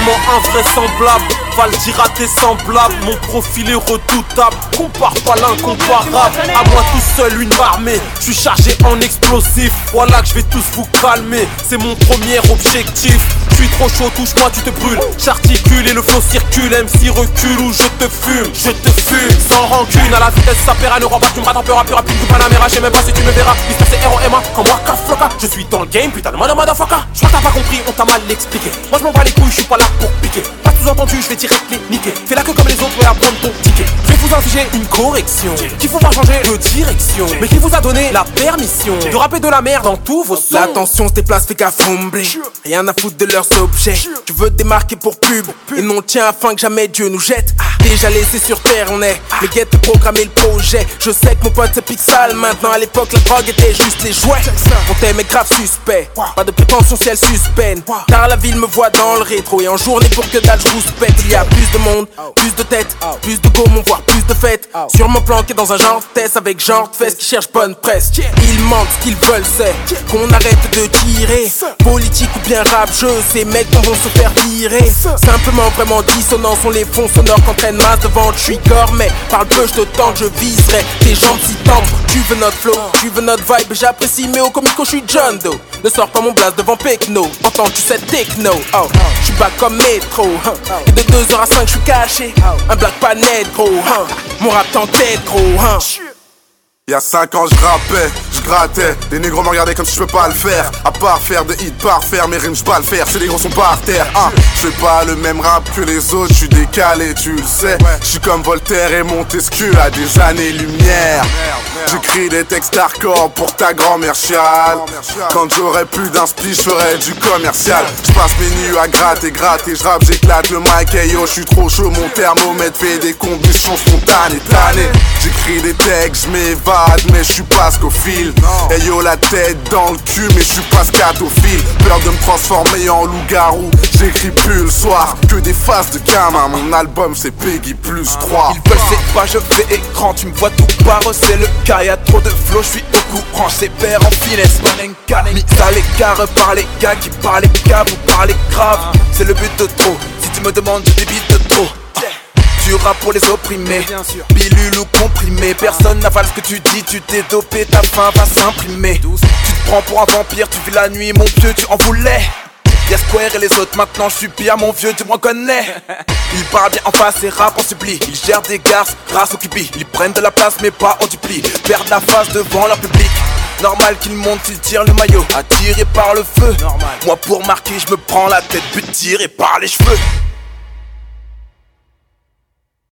tellement invraisemblable. Va le dire à tes semblables, mon profil est redoutable. Compare pas l'incomparable, à moi tout seul une armée. Je suis chargé en explosif, voilà que je vais tous vous calmer. C'est mon premier objectif. Je suis trop chaud, touche-moi, tu te brûles. J'articule et le flow circule. MC recule ou je te fume, sans rancune. À la vitesse ça perd, ne rends pas, tu me rates un peu plus rapide que Panamera. J'sais même pas si tu me verras. Mister c'est R.O.M.A. comme Waka Flocka. Je suis dans le game, putain de motherfucker. J'crois que t'as pas compris, on t'a mal expliqué. Moi je m'en bats les couilles, je suis pas là pour piquer. Pas sous-entendu, je vais direct les niquer. Fais la queue comme les autres et apprendre ton ticket. Je vais vous infliger une correction qu'il faut pas changer de direction, mais qui vous a donné la permission de rapper de la merde dans tous vos sons. L'attention se déplace, fait qu'à fumbler. Rien à foutre de leurs objets. Tu veux te démarquer pour pub et non tiens afin que jamais Dieu nous jette. Déjà laissé sur terre on est. Le guet de programmer le projet. Je sais que mon pote c'est Pixal. Maintenant à l'époque la drogue était juste les jouets. On t'aime est grave suspect. Pas de prétention si elle suspend. Car la ville me voit dans le rétro. Et en journée pour que dalle je vous pète. Il y a plus de monde, plus de têtes, plus de gommons, voire plus de fêtes. Sûrement planqué dans un genre de test avec genre de fesses qui cherche bonne presse. Ils mentent, ce qu'ils veulent c'est qu'on arrête de tirer. Politique ou bien rap jeu, ces mecs vont se faire virer. Simplement vraiment dissonants sont les fonds sonores qu'entraîne masse devant le trigger. Mais parle peu, je te tente, je viserai tes jambes si tendres. Tu veux notre flow, tu veux notre vibe, j'apprécie mais au comico je suis John Doe. Ne sors pas mon blast devant Pekno, entends-tu cette techno? Je suis bas comme métro, et de 2h à 5 je suis caché. Un black pas net gros, mon rap t'entête gros. Y'a 5 ans je rappais, je grattais. Les négros me regardaient comme si je peux pas le faire. À part faire de hits parfaire, mes rimes je pas le faire. C'est les gros sont par terre. Je fais pas le même rap que les autres, je suis décalé, tu le sais. Je suis comme Voltaire et Montesquieu à des années-lumière. J'écris des textes hardcore pour ta grand-mère chiale. Quand j'aurai plus d'inspi, je ferai du commercial. Je passe mes nuits à gratter, je rappe, j'éclate le mic. Hey yo, je suis trop chaud, mon thermomètre fait des combustions spontanées, tannées. J'écris des textes, je m'évade, mais je suis pas scophile. Hey yo, la tête dans le cul, mais je suis pas scatophile. Peur de me transformer en loup-garou, j'écris plus le soir. Que des faces de gamin, mon album c'est Peggy plus 3. Ils veulent c'est pas, je fais écran, tu me vois tout barre, c'est le cas. Y'a trop de flow, je suis au courant, c'est père en finesse. Mis à l'écart par les gars qui parlent câbles ou parlent grave. C'est le but de trop, si tu me demandes je débite de trop. Tu rap pour les opprimés, pilule ou comprimé. Personne n'avale ce que tu dis, tu t'es dopé, ta faim va s'imprimer. Tu te prends pour un vampire, tu vis la nuit, mon vieux, tu en voulais. Y'a Square et les autres, maintenant je suis pire, mon vieux, tu m'en connais. Ils parlent bien en face et rap en supplie. Ils gèrent des garces, grâce au cupi. Ils prennent de la place mais pas en dupli. Perdent la face devant leur public. Normal qu'ils montent, ils tirent le maillot, attiré par le feu. Moi pour marquer, je me prends la tête, but tiré par les cheveux.